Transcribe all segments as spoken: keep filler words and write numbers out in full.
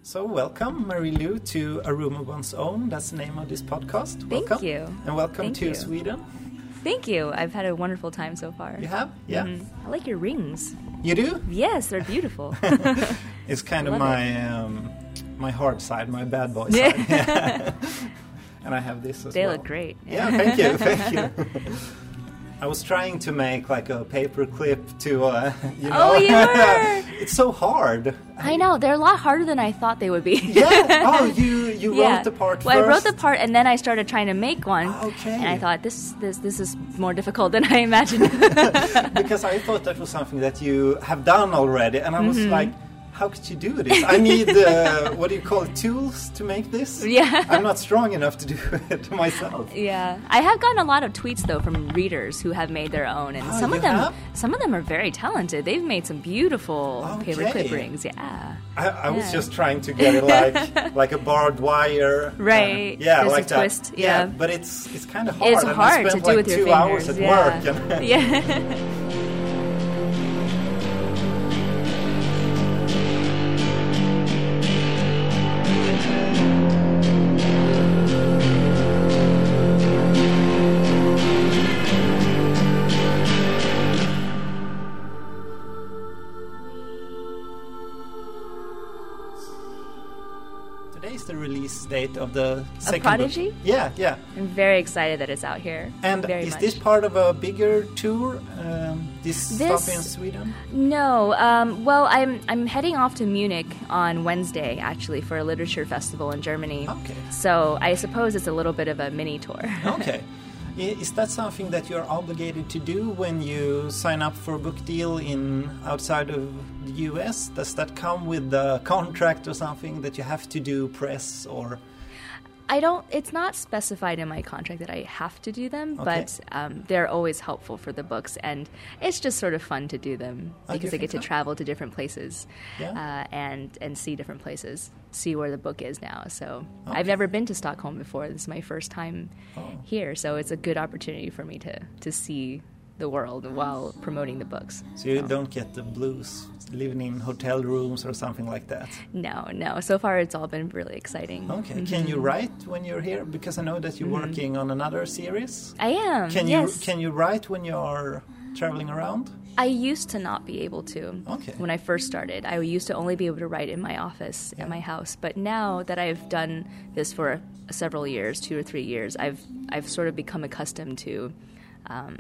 So welcome, Marie-Lou, to A Room of One's Own. That's the name of this podcast. Thank welcome. you. And welcome Thank to you. Sweden. Thank you. I've had a wonderful time so far. You have? Yeah. Mm-hmm. I like your rings. You do? Yes, they're beautiful. It's kind of Love my um, my hard side, my bad boy side. Yeah. And I have this as They well. look great. Yeah, thank you, thank you. I was trying to make like a paper clip to, uh, you know. Oh, you were? It's so hard. I know. They're a lot harder than I thought they would be. Yeah. Oh, you you Yeah. wrote the part Well, first. I wrote the part, and then I started trying to make one. Okay. And I thought, this this this is more difficult than I imagined. Because I thought that was something that you have done already, and I was Mm-hmm. like, how could you do this? I need, uh, what do you call it, tools to make this? Yeah. I'm not strong enough to do it myself. Yeah, I have gotten a lot of tweets though from readers who have made their own, and Oh, some you of them, have? some of them are very talented. They've made some beautiful Okay. paperclip rings. Yeah, I, I was Yeah. just trying to get it like like a barbed wire. Right. Uh, yeah, There's a like that. twist, yeah. But it's it's kind of hard. it's and I hard to spent do like with your two hours fingers. at yeah. work. And yeah. Today's the release date of the second Prodigy? book. Yeah, yeah. I'm very excited that it's out here. And very is much. this part of a bigger tour? Um, this, This- stop in Sweden? No. Um, well, I'm I'm heading off to Munich on Wednesday actually for a literature festival in Germany. Okay. So I suppose it's a little bit of a mini tour. Okay. I- Is that something that you're obligated to do when you sign up for a book deal in outside of the U S? Does that come with the contract or something that you have to do press or? I don't. It's not specified in my contract that I have to do them, Okay. but um, they're always helpful for the books, and it's just sort of fun to do them Oh, you because I get think to so? travel to different places, Yeah. uh, and and see different places, see where the book is now. So Okay. I've never been to Stockholm before. This is my first time Oh. here, so it's a good opportunity for me to to see the world while promoting the books. So you don't get the blues living in hotel rooms or something like that? No, no. So far, it's all been really exciting. Okay. Can you write when you're here? Because I know that you're working on another series. I am. Can you yes. can you write when you're traveling around? I used to not be able to. Okay. When I first started, I used to only be able to write in my office at my house. But now that I've done this for several years, two or three years, I've I've sort of become accustomed to um,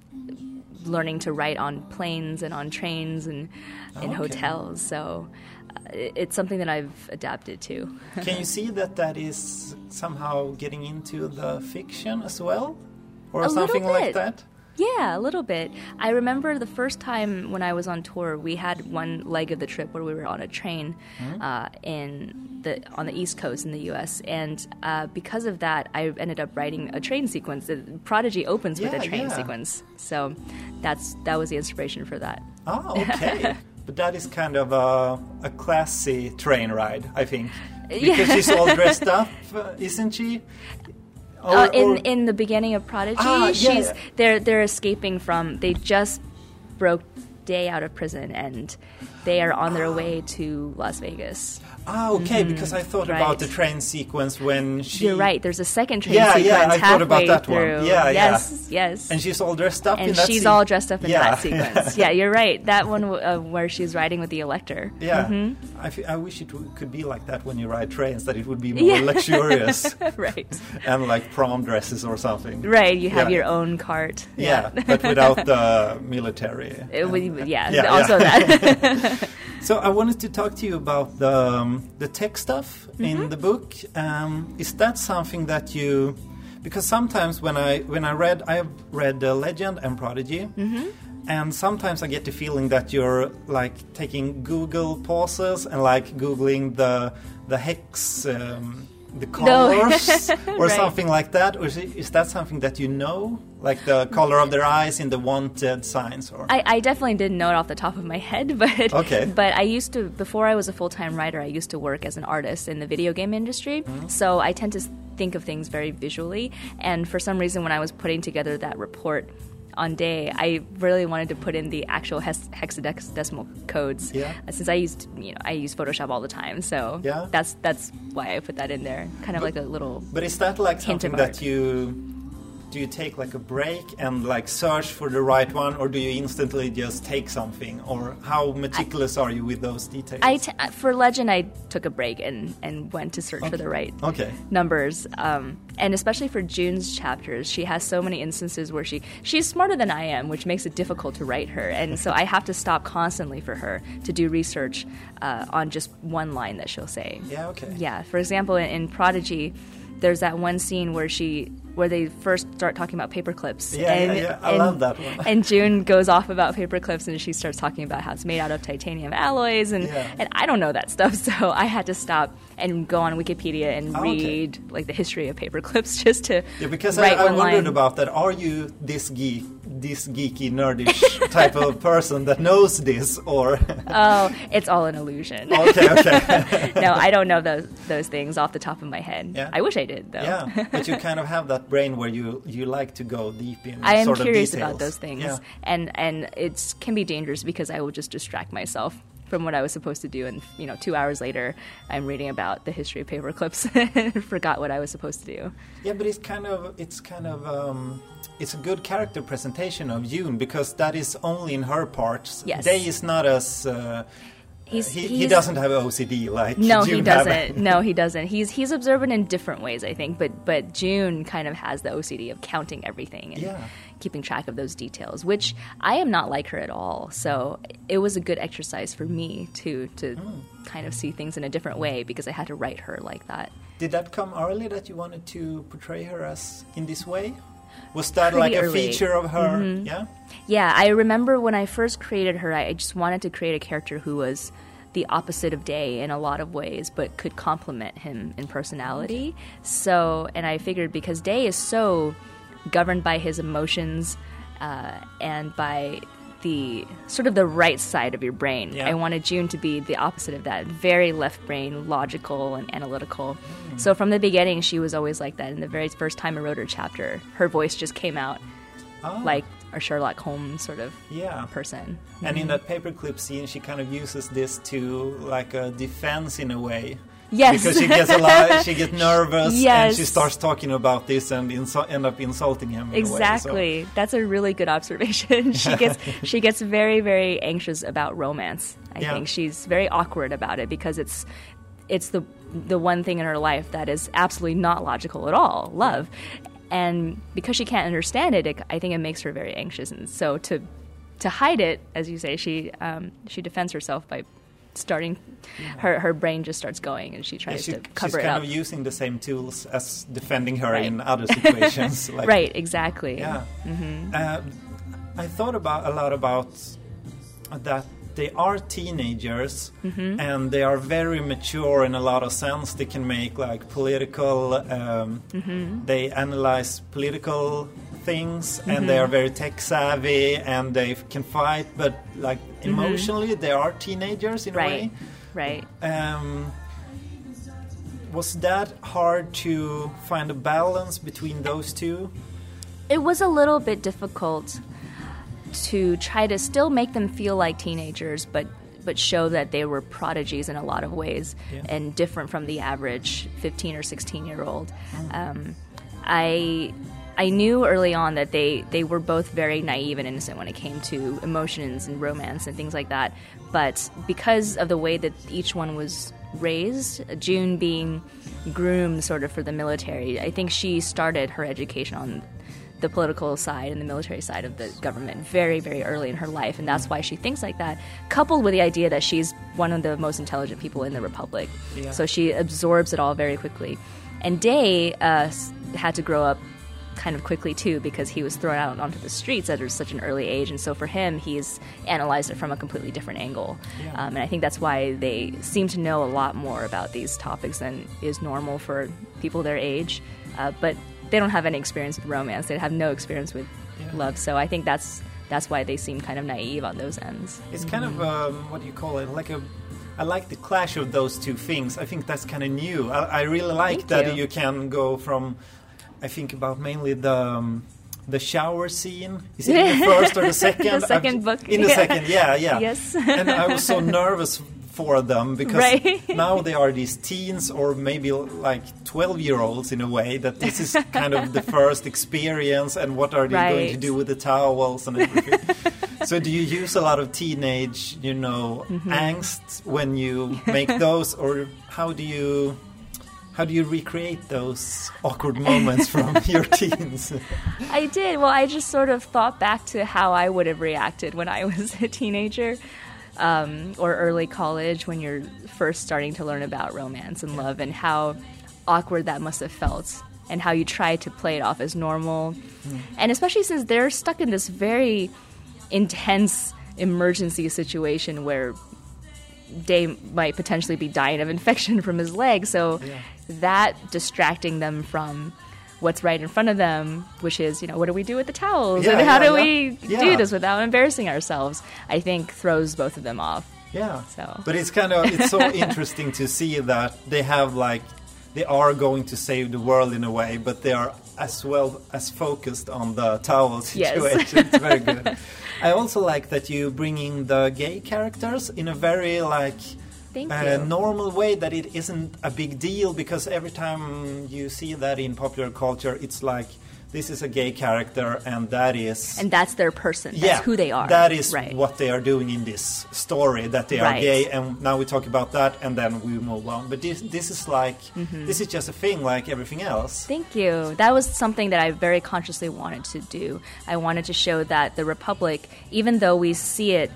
learning to write on planes and on trains and in Okay. hotels. So uh, it- it's something that I've adapted to. Can you see that that is somehow getting into the fiction as well? Or A little something like bit. that? Yeah, a little bit. I remember the first time when I was on tour, we had one leg of the trip where we were on a train uh, in the on the East Coast in the U S, and uh, because of that, I ended up writing a train sequence. The Prodigy opens with Yeah, a train yeah. sequence, so that's that was the inspiration for that. Oh, okay. But that is kind of a, a classy train ride, I think. Because she's all dressed up, uh, isn't she? Or- uh, in or- in the beginning of Prodigy, Ah, yeah, she's yeah. they're they're escaping from. They just broke Day out of prison, and they are on their way to Las Vegas. Ah, okay, because I thought about right. the train sequence when she... You're right. There's a second train Yeah, sequence yeah, I thought about halfway that one. through. Yeah, yeah. yes, yes. And she's all dressed up And in that she's se- all dressed up in Yeah. that sequence. Yeah, you're right. That one uh, where she's riding with the Elector. Yeah, Mm-hmm. I, f- I wish it w- could be like that when you ride trains, that it would be more Yeah. luxurious right. and like prom dresses or something. Right. You have Yeah. your own cart. Yeah, but without the military. It would- yeah, Yeah, also yeah. that. So I wanted to talk to you about the um, the tech stuff Mm-hmm. in the book. Um, is that something that you? Because sometimes when I when I read, I have read uh, Legend and Prodigy, Mm-hmm. and sometimes I get the feeling that you're like taking Google pauses and like googling the the hex. Um, the colors or Right. something like that, or is, it, is that something that you know, like the color of their eyes in the wanted signs? Or I, I definitely didn't know it off the top of my head, but Okay. but I used to, before I was a full-time writer, I used to work as an artist in the video game industry. Mm-hmm. So I tend to think of things very visually, and for some reason when I was putting together that report on Day, I really wanted to put in the actual hex- hexadecimal codes. Yeah. Uh, since I used, you know, I use Photoshop all the time, so Yeah. that's that's why I put that in there, kind of But- like a little. But is that like hint something of that art. you do you take like a break and like search for the right one, or do you instantly just take something, or how meticulous are you with those details? I t- for Legend, I took a break and, and went to search for the right Okay. numbers. Um, and especially for June's chapters, she has so many instances where she she's smarter than I am, which makes it difficult to write her. And so I have to stop constantly for her to do research uh, on just one line that she'll say. Yeah, okay. Yeah. For example, in, in Prodigy, there's that one scene where she where they first start talking about paper clips. Yeah, and, yeah, yeah. I and, love that one. And June goes off about paper clips, and she starts talking about how it's made out of titanium alloys, and, Yeah. and I don't know that stuff, so I had to stop and go on Wikipedia and Oh, okay. read like the history of paper clips just to Yeah, because I, write I one wondered line. about that. Are you this geek, this geeky, nerdish type of person that knows this, or? Oh, it's all an illusion. okay, okay. No, I don't know those those things off the top of my head. Yeah. I wish I did, though. Yeah, but you kind of have that brain where you, you like to go deep in I am sort of curious details. about those things, Yeah. and and it can be dangerous because I will just distract myself from what I was supposed to do, and you know, two hours later, I'm reading about the history of paper clips and forgot what I was supposed to do. Yeah, but it's kind of it's kind of um, it's a good character presentation of June, because that is only in her parts. Yes. Day is not as uh, He's, he, he's he doesn't have O C D like No, June he doesn't. have. No, he doesn't. He's he's observant in different ways, I think. But but June kind of has the O C D of counting everything and Yeah. keeping track of those details, which I am not like her at all. So it was a good exercise for me to to Hmm. kind of see things in a different way, because I had to write her like that. Did that come early that you wanted to portray her as in this way? Was that Pretty like a early. feature of her? Yeah. Yeah, I remember when I first created her, I just wanted to create a character who was the opposite of Day in a lot of ways, but could complement him in personality. So, and I figured because Day is so governed by his emotions uh, and by the sort of the right side of your brain, Yeah. I wanted June to be the opposite of that, very left brain, logical and analytical. So from the beginning, she was always like that. In the very first time I wrote her chapter, her voice just came out Oh. like a Sherlock Holmes sort of Yeah. person. And in that paperclip scene, she kind of uses this to like a defense in a way. Yes. Because she gets a lot, she gets nervous, and Yes. she starts talking about this and insu- end up insulting him. In Exactly. A way, so. That's a really good observation. she gets she gets very very anxious about romance. I Yeah. think she's very awkward about it because it's it's the the one thing in her life that is absolutely not logical at all, love. And because she can't understand it, it I think it makes her very anxious. And so to to hide it, as you say, she um, she defends herself by starting her her brain just starts going and she Yeah, tries she, to she's cover it kind up. of using the same tools as defending her Right. in other situations. Like, Right, exactly. Yeah. Uh, I thought about a lot about that they are teenagers and they are very mature in a lot of sense. They can make like political, um, they analyze political things and they are very tech savvy and they can fight, but like emotionally they are teenagers in a way. Right, right. Um, was that hard to find a balance between those two? It was a little bit difficult to try to still make them feel like teenagers, but but show that they were prodigies in a lot of ways Yeah. and different from the average fifteen or sixteen year old. Um, I I knew early on that they, they were both very naive and innocent when it came to emotions and romance and things like that. But because of the way that each one was raised, June being groomed sort of for the military, I think she started her education on the political side and the military side of the government very, very early in her life, and that's why she thinks like that, coupled with the idea that she's one of the most intelligent people in the Republic. Yeah. So she absorbs it all very quickly. And Day uh, s- had to grow up kind of quickly too, because he was thrown out onto the streets at such an early age, and so for him he's analyzed it from a completely different angle. Yeah. Um, and I think that's why they seem to know a lot more about these topics than is normal for people their age, uh, but they don't have any experience with romance, they have no experience with Yeah. love, so I think that's that's why they seem kind of naive on those ends. It's kind of um, what do you call it? Like a, I like the clash of those two things. I think that's kind of new. I, I really like Thank that you. you can go from. I think about mainly the um, the shower scene. Is it in the first or the second? The second I've, book. In the yeah. second, yeah, yeah. Yes. And I was so nervous for them because right. now they are these teens or maybe like twelve-year-olds in a way, that this is kind of the first experience, and what are they right. going to do with the towels and everything. So do you use a lot of teenage, you know, mm-hmm. angst when you make those, or how do you how do you recreate those awkward moments from your teens? I did. Well, I just sort of thought back to how I would have reacted when I was a teenager. Um, or early college, when you're first starting to learn about romance and love, and how awkward that must have felt, and how you try to play it off as normal. Mm. And especially since they're stuck in this very intense emergency situation where Day might potentially be dying of infection from his leg. So yeah. that distracting them from what's right in front of them, which is, you know, what do we do with the towels? Yeah, and how yeah, do yeah. we yeah. do this without embarrassing ourselves? I think throws both of them off. Yeah. So. But it's kind of, it's so interesting to see that they have like, they are going to save the world in a way, but they are as well as focused on the towel situation. Yes. It's very good. I also like that you bring in the gay characters in a very like Thank uh, you. normal way, that it isn't a big deal, because every time you see that in popular culture, it's like, this is a gay character and that is... And that's their person. That's yeah, who they are. That is right. what they are doing in this story, that they are right. gay, and now we talk about that and then we move on. But this this is like, mm-hmm. this is just a thing like everything else. Thank you. That was something that I very consciously wanted to do. I wanted to show that the Republic, even though we see it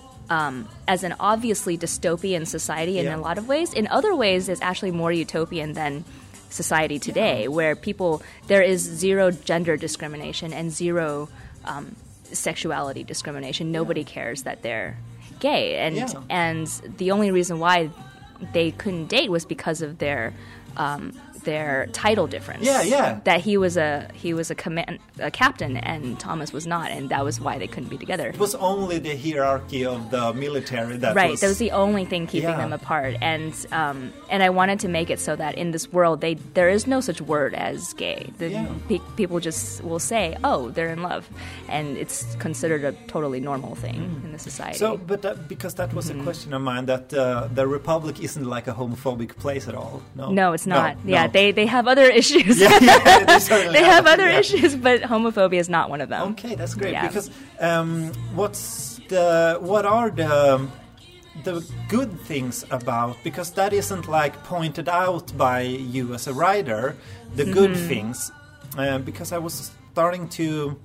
um, as an obviously dystopian society in yeah. a lot of ways, in other ways it's actually more utopian than society today, yeah. where people, there is zero gender discrimination and zero um, sexuality discrimination. Nobody yeah. cares that they're gay, and yeah. and the only reason why they couldn't date was because of their um, their title difference. Yeah, yeah. That he was a he was a command a captain and Thomas was not, and that was why they couldn't be together. It was only the hierarchy of the military that right. was... That was the only thing keeping yeah. them apart, and um, and I wanted to make it so that in this world, they there is no such word as gay. The, yeah. pe- people just will say, "Oh, they're in love," and it's considered a totally normal thing mm. in the society. So, but that, because that was mm-hmm. a question of mine, that uh, the Republic isn't like a homophobic place at all. No, no, it's not. No, yeah, no. they they have other issues. yeah, yeah, they, they have other yeah. issues, but homophobia is not one of them. Okay, that's great. Yeah. Because um, what's the what are the the good things about? Because that isn't like pointed out by you as a writer. The good mm-hmm. things, uh, because I was starting to.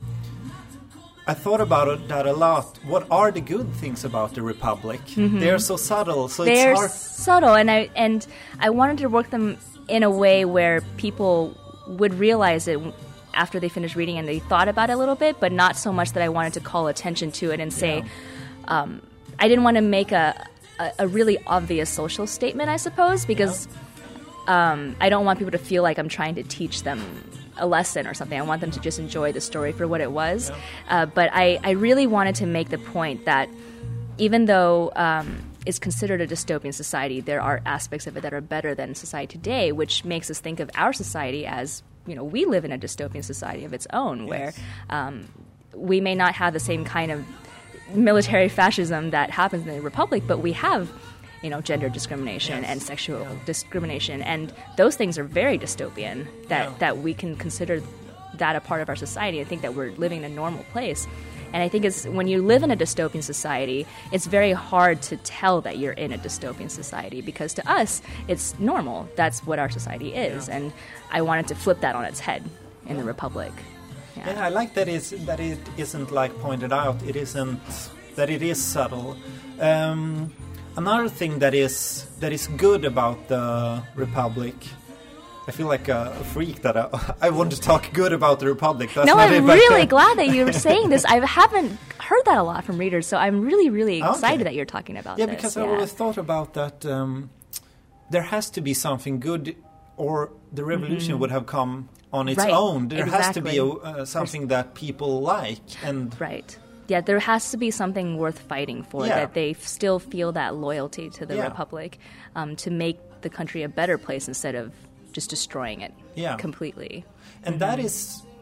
I thought about it, that a lot. What are the good things about the Republic? Mm-hmm. They're so subtle, so They're it's hard. subtle, and I and I wanted to work them in a way where people would realize it after they finished reading and they thought about it a little bit, but not so much that I wanted to call attention to it and say, yeah. um, I didn't want to make a, a, a really obvious social statement, I suppose, because yeah. um, I don't want people to feel like I'm trying to teach them a lesson or something. I want them to just enjoy the story for what it was. Yeah. Uh, but I, I really wanted to make the point that even though um, it's considered a dystopian society, there are aspects of it that are better than society today, which makes us think of our society as, you know, we live in a dystopian society of its own, yes. where um, we may not have the same kind of military fascism that happens in the Republic, but we have, you know, gender discrimination yes. and sexual yeah. discrimination, and those things are very dystopian, that, yeah. that we can consider that a part of our society and think that we're living in a normal place. And I think it's when you live in a dystopian society, it's very hard to tell that you're in a dystopian society, because to us, it's normal. That's what our society is. Yeah. And I wanted to flip that on its head in yeah. the Republic. Yeah. yeah, I like that is that it isn't like pointed out. It isn't that it is subtle. Um, another thing that is that is good about the Republic. I feel like a freak that I, I want to talk good about the Republic. That's no, not I'm it, really glad that you're saying this. I haven't heard that a lot from readers, so I'm really, really excited okay. that you're talking about yeah, this. Because yeah, I because always thought about that um, there has to be something good, or the revolution mm-hmm. would have come on its right. own. There exactly. has to be a, uh, something that people like. and Right. Yeah, there has to be something worth fighting for, yeah. that they f- still feel that loyalty to the yeah. Republic, um, to make the country a better place instead of just destroying it yeah. completely. And mm-hmm. that is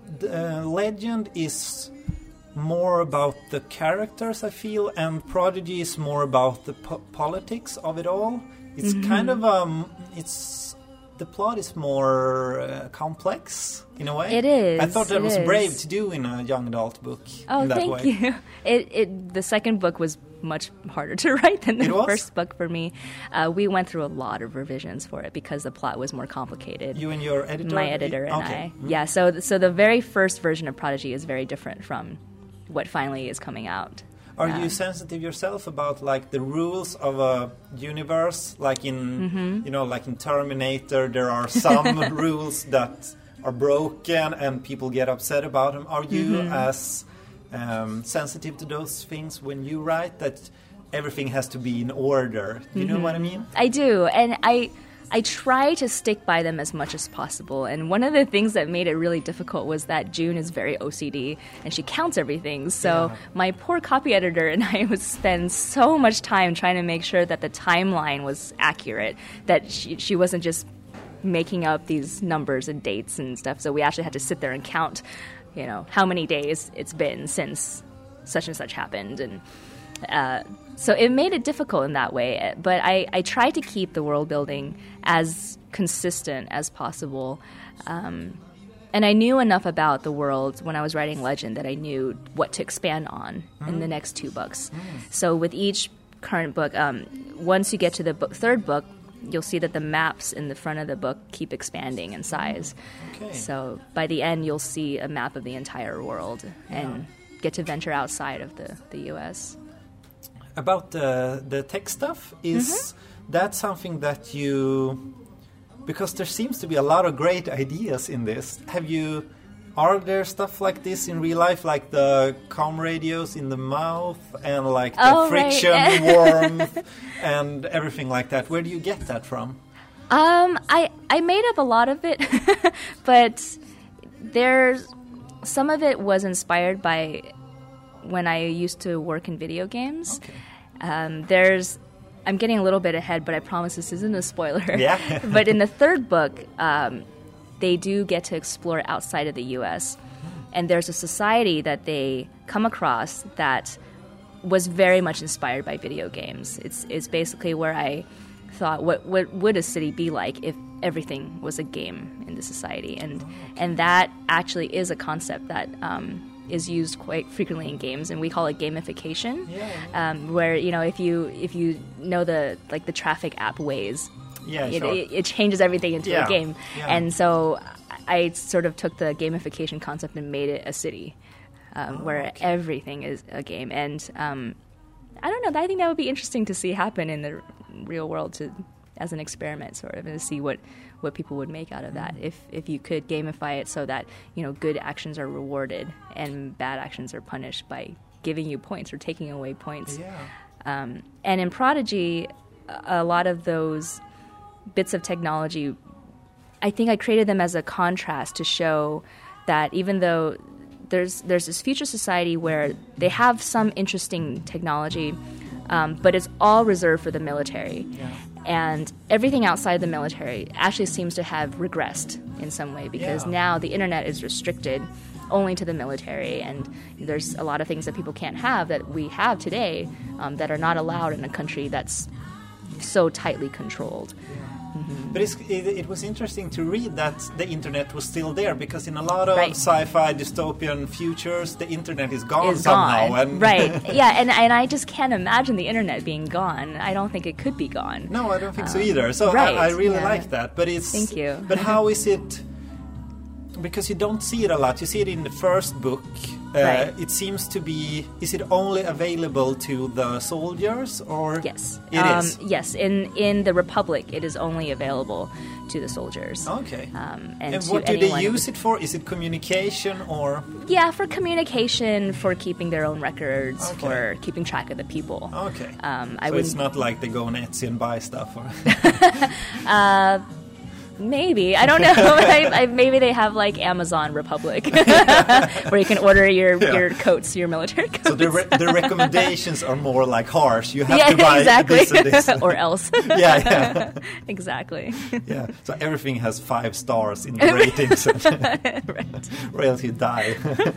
the, uh, Legend is more about the characters, I feel, and Prodigy is more about the po- politics of it all. It's mm-hmm. kind of um, it's the plot is more uh, complex in a way. It is. I thought that it was is. brave to do in a young adult book. Oh, in that thank way. you. It it the second book was much harder to write than the first book for me. Uh, we went through a lot of revisions for it because the plot was more complicated. You and your editor? My editor and okay. I. Mm-hmm. Yeah, so so the very first version of Prodigy is very different from what finally is coming out. Are um, you sensitive yourself about like the rules of a universe? Like in mm-hmm. you know, like in Terminator, there are some rules that are broken and people get upset about them. Are you mm-hmm. as um, sensitive to those things when you write, that everything has to be in order? You mm-hmm. know what I mean? I do, and I. I try to stick by them as much as possible, and one of the things that made it really difficult was that June is very O C D, and she counts everything, so yeah. my poor copy editor and I would spend so much time trying to make sure that the timeline was accurate, that she, she wasn't just making up these numbers and dates and stuff, so we actually had to sit there and count, you know, how many days it's been since such and such happened, and uh, so it made it difficult in that way, but I, I tried to keep the world building as consistent as possible. Um, and I knew enough about the world when I was writing Legend that I knew what to expand on mm. in the next two books. Mm. So with each current book, um, once you get to the book, third book, you'll see that the maps in the front of the book keep expanding in size. Okay. So by the end, you'll see a map of the entire world and yeah. get to venture outside of the, the U S About the the tech stuff, is mm-hmm. that something that you, because there seems to be a lot of great ideas in this. Have you, are there stuff like this in real life, like the comm radios in the mouth and like the oh, friction right. warmth and everything like that? Where do you get that from? Um, I I made up a lot of it, but there's some of it was inspired by when I used to work in video games. Okay. Um, there's, I'm getting a little bit ahead, but I promise this isn't a spoiler. Yeah. But in the third book, um, they do get to explore outside of the U S And there's a society that they come across that was very much inspired by video games. It's it's basically where I thought, what what would a city be like if everything was a game in the society? And oh, okay. and that actually is a concept that um, is used quite frequently in games, and we call it gamification. Yeah. Um, where you know if you if you know the like the traffic app Waze, yeah, it, sure. it, it changes everything into yeah. a game. Yeah. And so I sort of took the gamification concept and made it a city, um, oh, where okay. everything is a game. And um, I don't know. I think that would be interesting to see happen in the real world, to as an experiment, sort of, and to see what. what people would make out of that if if you could gamify it so that, you know, good actions are rewarded and bad actions are punished by giving you points or taking away points. Yeah. Um, and in Prodigy, a lot of those bits of technology, I think I created them as a contrast to show that even though there's there's this future society where they have some interesting technology, um, but it's all reserved for the military. Yeah. And everything outside the military actually seems to have regressed in some way, because yeah. now the internet is restricted only to the military, and there's a lot of things that people can't have that we have today um, that are not allowed in a country that's so tightly controlled. Yeah. Mm-hmm. But it's, it, it was interesting to read that the internet was still there, because in a lot of right. sci-fi dystopian futures, the internet is gone is somehow. Gone. And right, yeah, and, and I just can't imagine the internet being gone. I don't think it could be gone. No, I don't think um, so either. So right. I, I really yeah. like that. But it's Thank you. But how is it? Because you don't see it a lot. You see it in the first book. Uh, right. It seems to be. Is it only available to the soldiers, or yes, it um, is? Yes, in in the Republic, it is only available to the soldiers. Okay. Um, and and to what do they anyone use it for? Is it communication or? Yeah, for communication, for keeping their own records, okay. for keeping track of the people. Okay. Um, I so wouldn't... it's not like they go on Etsy and buy stuff, or. uh, Maybe. I don't know. I, I, maybe they have like Amazon Republic where you can order your, yeah. your coats, your military coats. So the, re- the recommendations are more like harsh. You have yeah, to buy exactly. this and this. Or else. yeah, yeah. Exactly. Yeah. So everything has five stars in the ratings. Right. Or else you die.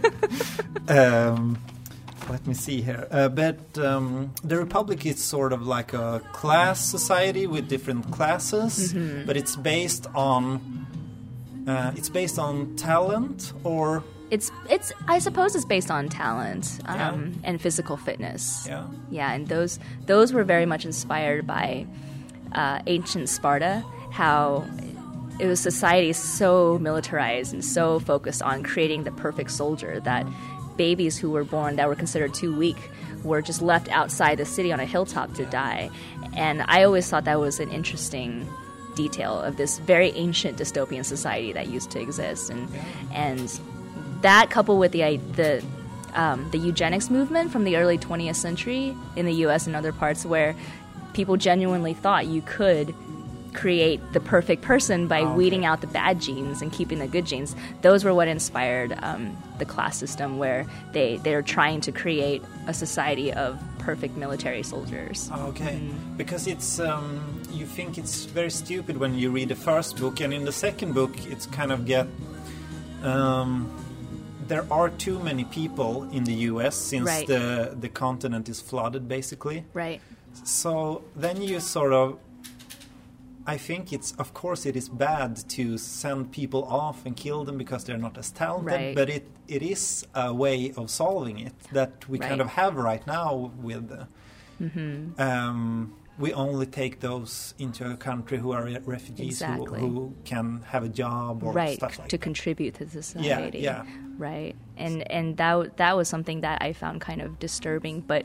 um, let me see here. Uh, but um, the Republic is sort of like a class society with different classes, mm-hmm. but it's based on uh, it's based on talent, or it's it's I suppose it's based on talent um, yeah. and physical fitness. Yeah, yeah, and those those were very much inspired by uh, ancient Sparta. How it was society so militarized and so focused on creating the perfect soldier that babies who were born that were considered too weak were just left outside the city on a hilltop to die. And I always thought that was an interesting detail of this very ancient dystopian society that used to exist. And and that coupled with the the um, the eugenics movement from the early twentieth century in the U S and other parts, where people genuinely thought you could create the perfect person by oh, okay. weeding out the bad genes and keeping the good genes. Those were what inspired um, the class system, where they, they're trying to create a society of perfect military soldiers. Okay, mm. because it's um, you think it's very stupid when you read the first book, and in the second book it's kind of get um, there are too many people in the U S since right. the the continent is flooded basically. Right. So then you sort of I think it's, of course, it is bad to send people off and kill them because they're not as talented, right. but it, it is a way of solving it that we right. kind of have right now with, uh, mm-hmm. um, we only take those into a country who are refugees exactly. who, who can have a job or right. stuff like to that. contribute to society. Yeah, yeah. Right. And, and that, that was something that I found kind of disturbing, but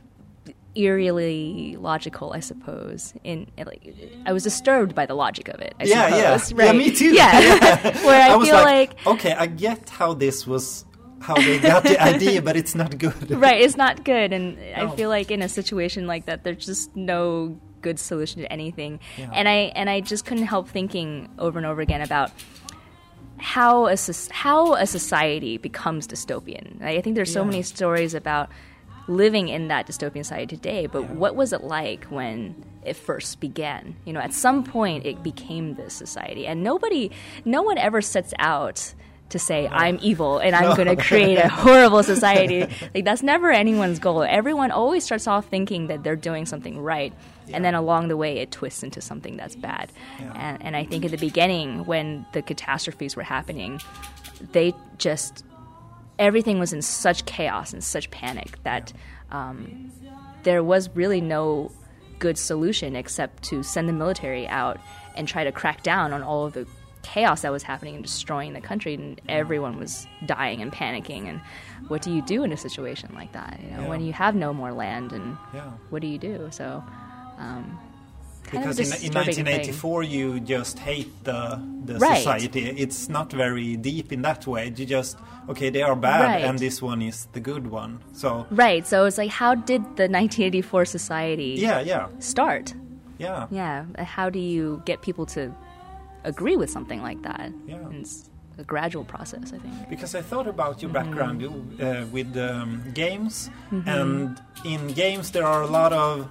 eerily logical, I suppose. In, in like, I was disturbed by the logic of it. I yeah, suppose, yeah, right? yeah. Me too. Yeah, where I, I was feel like, like, okay, I get how this was, how they got the idea, but it's not good. Right, it's not good, and no. I feel like in a situation like that, there's just no good solution to anything. Yeah. And I and I just couldn't help thinking over and over again about how a how a society becomes dystopian. I think there's so yeah. many stories about living in that dystopian society today, but yeah. what was it like when it first began? You know, at some point it became this society, and nobody, no one ever sets out to say, no. I'm evil and I'm no. going to create a horrible society. Like, that's never anyone's goal. Everyone always starts off thinking that they're doing something right, yeah. and then along the way it twists into something that's bad. Yeah. And, and I think at the beginning, when the catastrophes were happening, they just... everything was in such chaos and such panic that um, there was really no good solution except to send the military out and try to crack down on all of the chaos that was happening and destroying the country, and everyone was dying and panicking. And what do you do in a situation like that? You know, yeah. when you have no more land, and yeah. what do you do? So, um, because in, in nineteen eighty-four thing. You just hate the the right. society. It's not very deep in that way. You just okay, they are bad, right. and this one is the good one. So right. So it's like, how did the nineteen eighty-four society yeah, yeah. start? Yeah, yeah. How do you get people to agree with something like that? Yeah. And it's a gradual process, I think. Because I thought about your background mm-hmm. uh, with um, games, mm-hmm. and in games there are a lot of.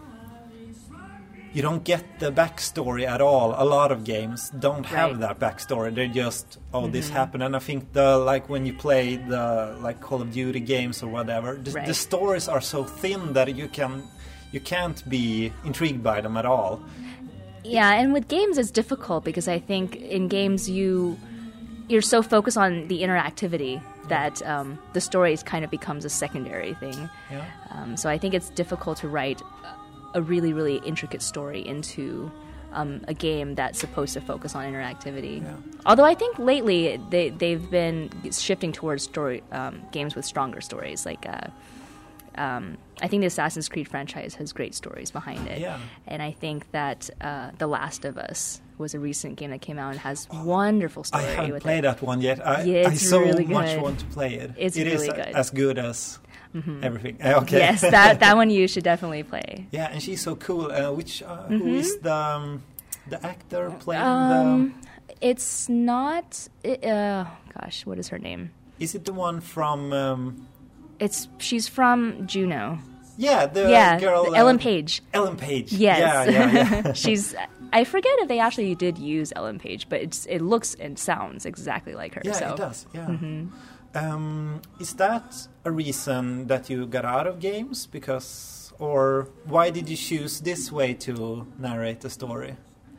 You don't get the backstory at all. A lot of games don't have right. that backstory. They're just, oh, mm-hmm. this happened. And I think the like when you play the like Call of Duty games or whatever, the, right. the stories are so thin that you can you can't be intrigued by them at all. Yeah, and with games it's difficult because I think in games you you're so focused on the interactivity that um, the story kind of becomes a secondary thing. Yeah. Um, so I think it's difficult to write a really, really intricate story into um, a game that's supposed to focus on interactivity. Yeah. Although I think lately they, they've been shifting towards story um, games with stronger stories. Like, uh, um, I think the Assassin's Creed franchise has great stories behind it. Yeah. And I think that uh, The Last of Us was a recent game that came out and has oh, wonderful story. I haven't with played it. that one yet. I, yeah, I so really much good. want to play it. It's it really is good. as good as mm-hmm. everything. Okay. Yes, that that one you should definitely play. Yeah, and she's so cool. Uh, which uh, mm-hmm. who is the um, the actor playing um, it's not. It, uh, gosh, what is her name? Is it the one from? Um, it's she's from Juno. Yeah, the yeah, girl the Ellen uh, Page. Ellen Page. Yes. Yeah, yeah, yeah. She's. I forget if they actually did use Ellen Page, but it's it looks and sounds exactly like her. Yeah, so. it does. Yeah. Mm-hmm. Um, is that a reason that you got out of games? Because, or why did you choose this way to narrate the story?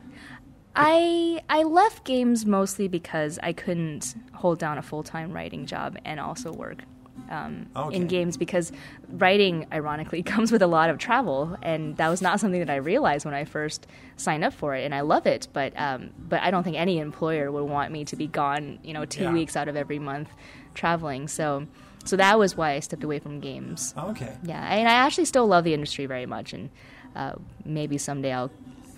I I left games mostly because I couldn't hold down a full-time writing job and also work um, okay. in games, because writing, ironically, comes with a lot of travel, and that was not something that I realized when I first signed up for it. And I love it, but um, but I don't think any employer would want me to be gone, you know, two yeah. weeks out of every month traveling. So so that was why I stepped away from games. Okay. Yeah, and I actually still love the industry very much, and uh, maybe someday I'll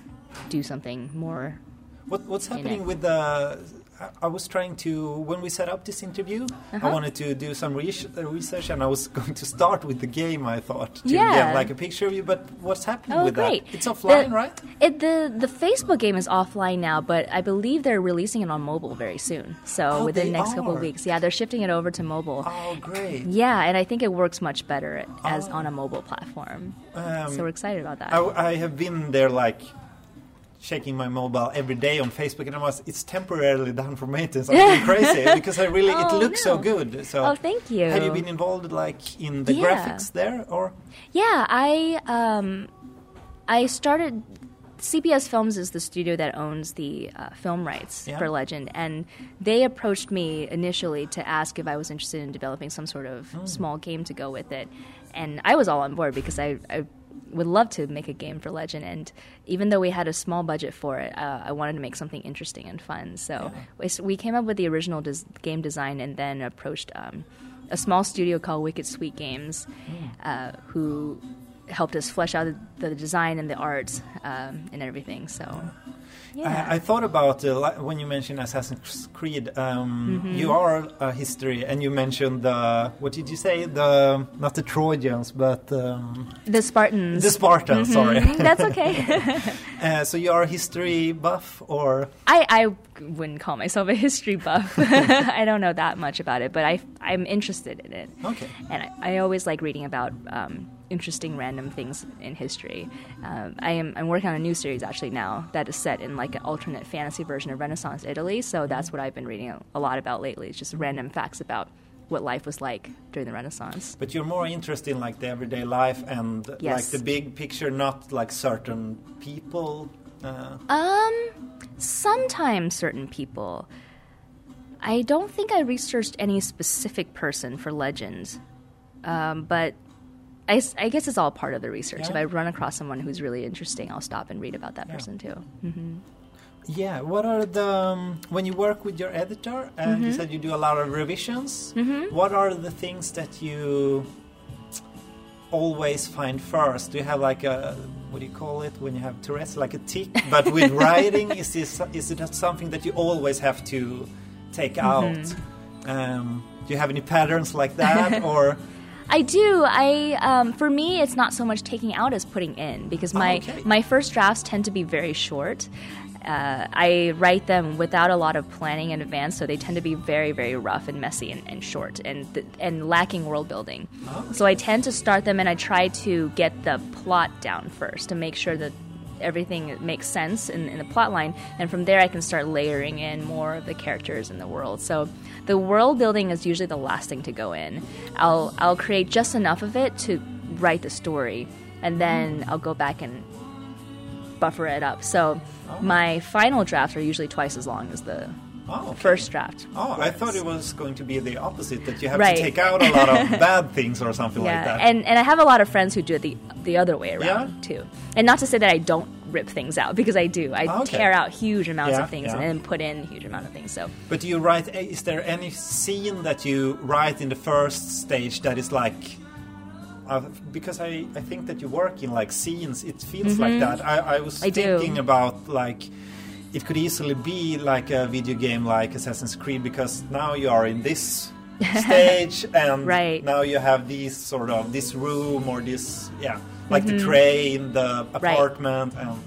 do something more. What, what's happening with the... I was trying to... When we set up this interview, uh-huh. I wanted to do some re- research, and I was going to start with the game, I thought. To yeah. get like a picture of you, but what's happening oh, with great. that? It's offline, the, right? It, the, the Facebook game is offline now, but I believe they're releasing it on mobile very soon. So oh, within the next are. couple of weeks. Yeah, they're shifting it over to mobile. Oh, great. Yeah, and I think it works much better as oh. on a mobile platform. Um, so we're excited about that. I, I have been there like... checking my mobile every day on Facebook, and I was, it's temporarily down for maintenance. I'm going crazy because I really oh, it looks no. so good. So oh, thank you. Have you been involved like in the yeah. graphics there, or? Yeah, I um, I started. C B S Films is the studio that owns the uh, film rights yeah. for Legend, and they approached me initially to ask if I was interested in developing some sort of mm. small game to go with it, and I was all on board because I. I would love to make a game for Legend, and even though we had a small budget for it, uh, I wanted to make something interesting and fun. So yeah. we, we came up with the original des- game design, and then approached um, a small studio called Wicked Sweet Games, mm. uh, who helped us flesh out the, the design and the art um, and everything. So. Yeah. I, I thought about uh, when you mentioned Assassin's Creed. Um, mm-hmm. You are a history, and you mentioned the what did you say? The not the Trojans, but um, the Spartans. The Spartans. Mm-hmm. Sorry, that's okay. uh, so you are a history buff, or I, I wouldn't call myself a history buff. I don't know that much about it, but I I'm interested in it. Okay, and I, I always like reading about. Um, interesting random things in history. Um, I am I'm working on a new series actually now that is set in like an alternate fantasy version of Renaissance Italy. So that's what I've been reading a, a lot about lately. It's just random facts about what life was like during the Renaissance. But you're more interested in like the everyday life and yes. like the big picture, not like certain people. Uh. Um, sometimes certain people. I don't think I researched any specific person for Legend, um, but. I, I guess it's all part of the research. Yeah. If I run across someone who's really interesting, I'll stop and read about that yeah. person too. Mm-hmm. Yeah. What are the um, when you work with your editor and mm-hmm. you said you do a lot of revisions? Mm-hmm. What are the things that you always find first? Do you have like a what do you call it when you have Tourette's, like a tick? But with writing, is this is it something that you always have to take mm-hmm. out? Um, do you have any patterns like that, or? I do. I um, for me, it's not so much taking out as putting in, because my oh, okay. my first drafts tend to be very short. Uh, I write them without a lot of planning in advance, so they tend to be very, very rough and messy and, and short and th- and lacking world building. Oh. So I tend to start them and I try to get the plot down first to make sure that everything makes sense in, in the plot line, and from there I can start layering in more of the characters in the world. So the world building is usually the last thing to go in. I'll I'll create just enough of it to write the story, and then I'll go back and buffer it up. So oh. my final drafts are usually twice as long as the oh, okay. first draft. Oh, I thought it was going to be the opposite, that you have right. to take out a lot of bad things or something yeah. like that. And and I have a lot of friends who do it the the other way around yeah? too. And not to say that I don't rip things out, because I do. I okay. tear out huge amounts yeah, of things yeah. and then put in a huge amount of things. So. But do you write, is there any scene that you write in the first stage that is like, uh, because I, I think that you work in like scenes, it feels mm-hmm. like that. I, I was I thinking do. about like, it could easily be like a video game like Assassin's Creed, because now you are in this stage and right. now you have these sort of, this room or this, yeah, like mm-hmm. the train, the apartment, right. and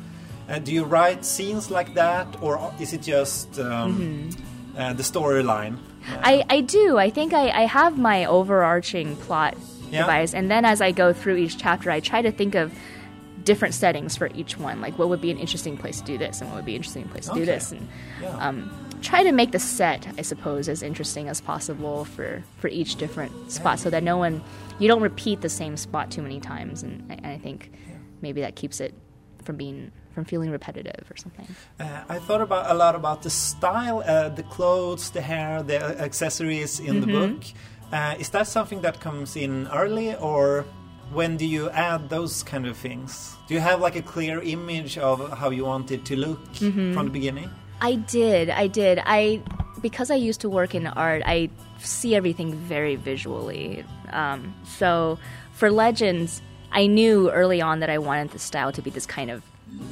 Uh, do you write scenes like that, or is it just um, mm-hmm. uh, the storyline? Uh, I, I do. I think I, I have my overarching plot yeah. device, and then as I go through each chapter, I try to think of different settings for each one. Like, what would be an interesting place to do this, and what would be an interesting place to okay. do this, and yeah. um, try to make the set, I suppose, as interesting as possible for, for each different spot, yeah. so that no one, you don't repeat the same spot too many times, and I, and I think yeah. maybe that keeps it from being from feeling repetitive or something. Uh, I thought about a lot about the style, uh, the clothes, the hair, the accessories in mm-hmm. the book. Uh, is that something that comes in early, or when do you add those kind of things? Do you have like a clear image of how you want it to look mm-hmm. from the beginning? I did, I did. I because I used to work in art, I see everything very visually. Um, so for Legends, I knew early on that I wanted the style to be this kind of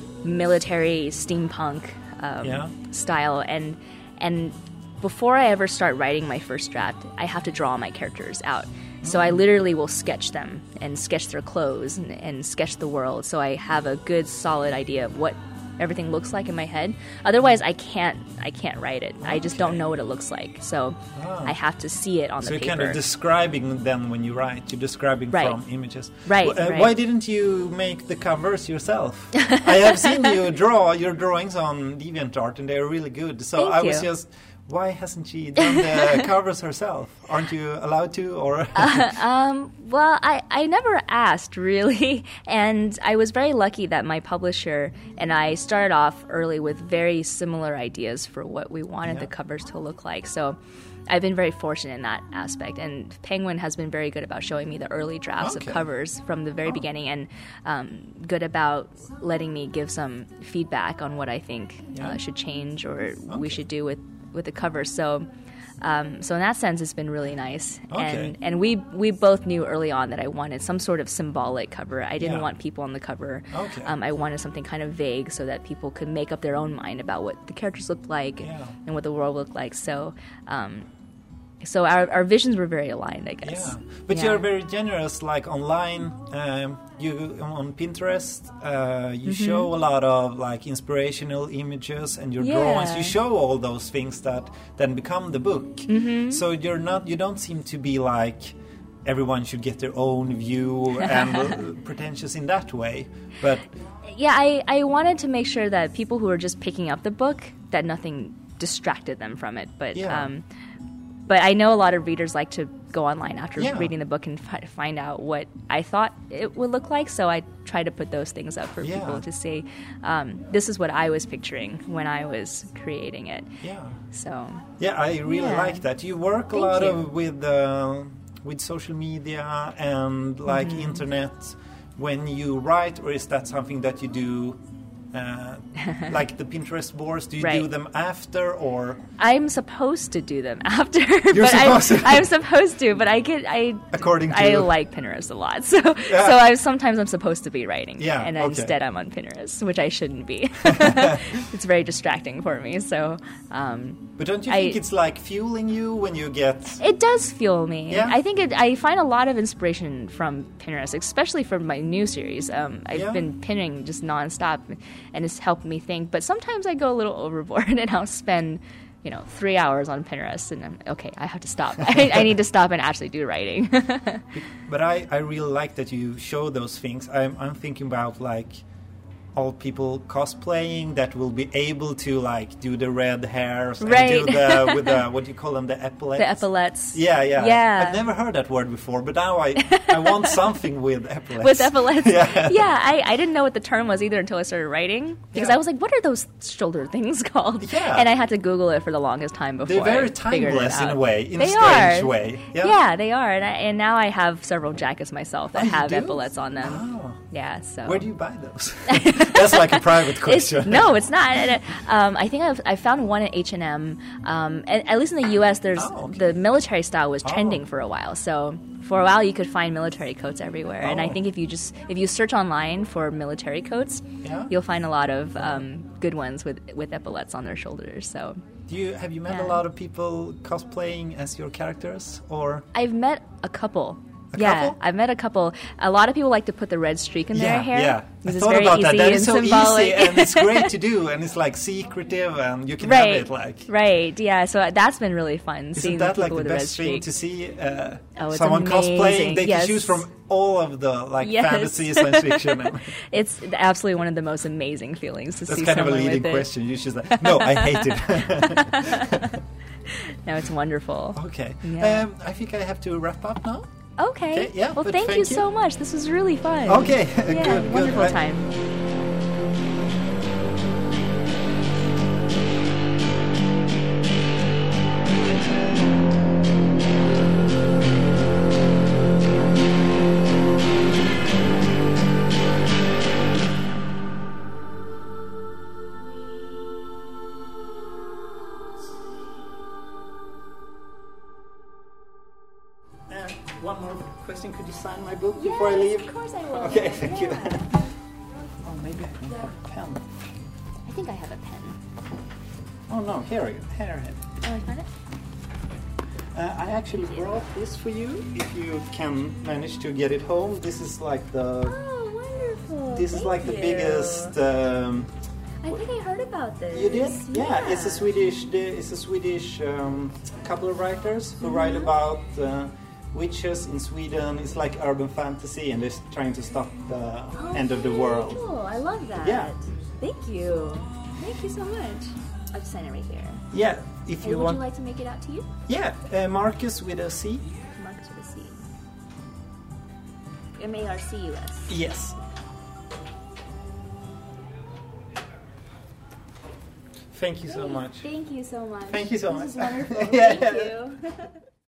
military steampunk um, yeah. style, and and before I ever start writing my first draft, I have to draw my characters out. So I literally will sketch them and sketch their clothes and, and sketch the world, so I have a good solid idea of what everything looks like in my head. Otherwise, I can't I can't write it. I just don't know what it looks like. So ah. I have to see it on so the paper. So paper. you're kind of describing them when you write. You're describing right. from images. Right, uh, right. Why didn't you make the covers yourself? I have seen you draw your drawings on DeviantArt, and they're really good. So Thank I you. was just... Why hasn't she done the covers herself? Aren't you allowed to? Or uh, um, well, I, I never asked, really. And I was very lucky that my publisher and I started off early with very similar ideas for what we wanted yeah. the covers to look like. So I've been very fortunate in that aspect. And Penguin has been very good about showing me the early drafts okay. of covers from the very oh. beginning, and um, good about letting me give some feedback on what I think yeah. uh, should change or okay. we should do with with the cover. So um, so in that sense, it's been really nice. Okay. And and we we both knew early on that I wanted some sort of symbolic cover. I didn't yeah. want people on the cover. Okay. Um, I wanted something kind of vague so that people could make up their own mind about what the characters looked like yeah. and what the world looked like. So um, so our, our visions were very aligned, I guess. Yeah, but yeah. you're very generous, like online. Um, you on Pinterest, uh, you mm-hmm. show a lot of like inspirational images, and your yeah. drawings. You show all those things that then become the book. Mm-hmm. So you're not. You don't seem to be like everyone should get their own view and pretentious in that way. But yeah, I I wanted to make sure that people who are just picking up the book, that nothing distracted them from it. But yeah. um, But I know a lot of readers like to go online after yeah. reading the book and fi- find out what I thought it would look like. So I try to put those things up for yeah. people to see, um, this is what I was picturing when I was creating it. Yeah. So. Yeah, I really yeah. like that. You work a Thank lot you. of with uh, with social media and like mm-hmm. internet when you write, or is that something that you do? Uh, like the Pinterest boards, do you right. do them after, or I'm supposed to do them after? You're but supposed I, to. I'm supposed to, but I get I according to I like Pinterest a lot, so yeah. so I sometimes I'm supposed to be writing, yeah, and okay. instead I'm on Pinterest, which I shouldn't be. It's very distracting for me. So, um, but don't you I, think it's like fueling you when you get? It does fuel me. Yeah? I think it. I find a lot of inspiration from Pinterest, especially from my new series. Um, I've yeah. been pinning just nonstop, and it's helped me think. But sometimes I go a little overboard, and I'll spend, you know, three hours on Pinterest, and I'm okay. I have to stop. I, I need to stop and actually do writing. But I, I really like that you show those things. I'm I'm thinking about like all people cosplaying that will be able to like do the red hairs and right. do the with the what do you call them, the epaulets? The epaulets. Yeah, yeah. Yeah. I've never heard that word before, but now I I want something with epaulets. With epaulets. yeah. Yeah, I, I didn't know what the term was either until I started writing, because yeah. I was like, what are those shoulder things called? Yeah. And I had to Google it for the longest time before. They're very I figured it timeless in out. a way, in they a strange are. way. Yeah, yeah they are. And, I, and now I have several jackets myself that oh, have do? epaulets on them. Oh. Yeah, so. Where do you buy those? That's like a private question. It's, no, it's not. Um, I think I've, I found one at H and M. Um, at, at least in the U S, there's oh, okay. the military style was trending oh. for a while. So for a while, you could find military coats everywhere. Oh. And I think if you just if you search online for military coats, yeah. you'll find a lot of um, good ones with with epaulets on their shoulders. So. Do you have you met yeah. a lot of people cosplaying as your characters, or? I've met a couple. A yeah, couple? I've met a couple. A lot of people like to put the red streak in Yeah, their hair. yeah. I Because it's thought very about easy that. That and is so symbolic. easy and it's great to do, and it's like secretive, and you can right, have it like. right, yeah. So that's been really fun. Isn't seeing that people like the with a red best thing streak. to see? Uh, Oh, it's someone amazing. cosplaying. They Yes. can choose from all of the like Yes. fantasy, science fiction. It's absolutely one of the most amazing feelings to That's see kind of a someone leading with it. question. You should say, no, I hate it. No, it's wonderful. Okay. Yeah. Um, I think I have to wrap up now. Okay. Okay, yeah, well, but thank, thank you, you. so much. This was really fun. Okay, Yeah, good, good. wonderful I- time. Uh, one more question. Could you sign my book before I leave? Of course I will. Okay, thank you. Yeah. Oh, maybe I can have a pen. I think I have a pen. Oh no, here we go. Here, here. Oh, I found it? Uh, I actually brought this for you. If you can manage to get it home, this is like the. Oh, wonderful. This is Thank like the you. biggest. Um, I think I heard about this. You did? Yeah, it's a Swedish. It's a Swedish um, couple of writers who Mm-hmm. write about uh, witches in Sweden. It's like urban fantasy, and they're trying to stop the Oh, end of the very world. Cool. I love that. Yeah. Thank you. Thank you so much. I'll just sign it right here. Yeah, if Hey, you would want. you like to make it out to you? Yeah, uh, Marcus with a C. Marcus with a C. M A R C U S. Yes. Thank you so much. Thank you so much. Thank you so this much. This is wonderful. Yeah, Thank yeah. you.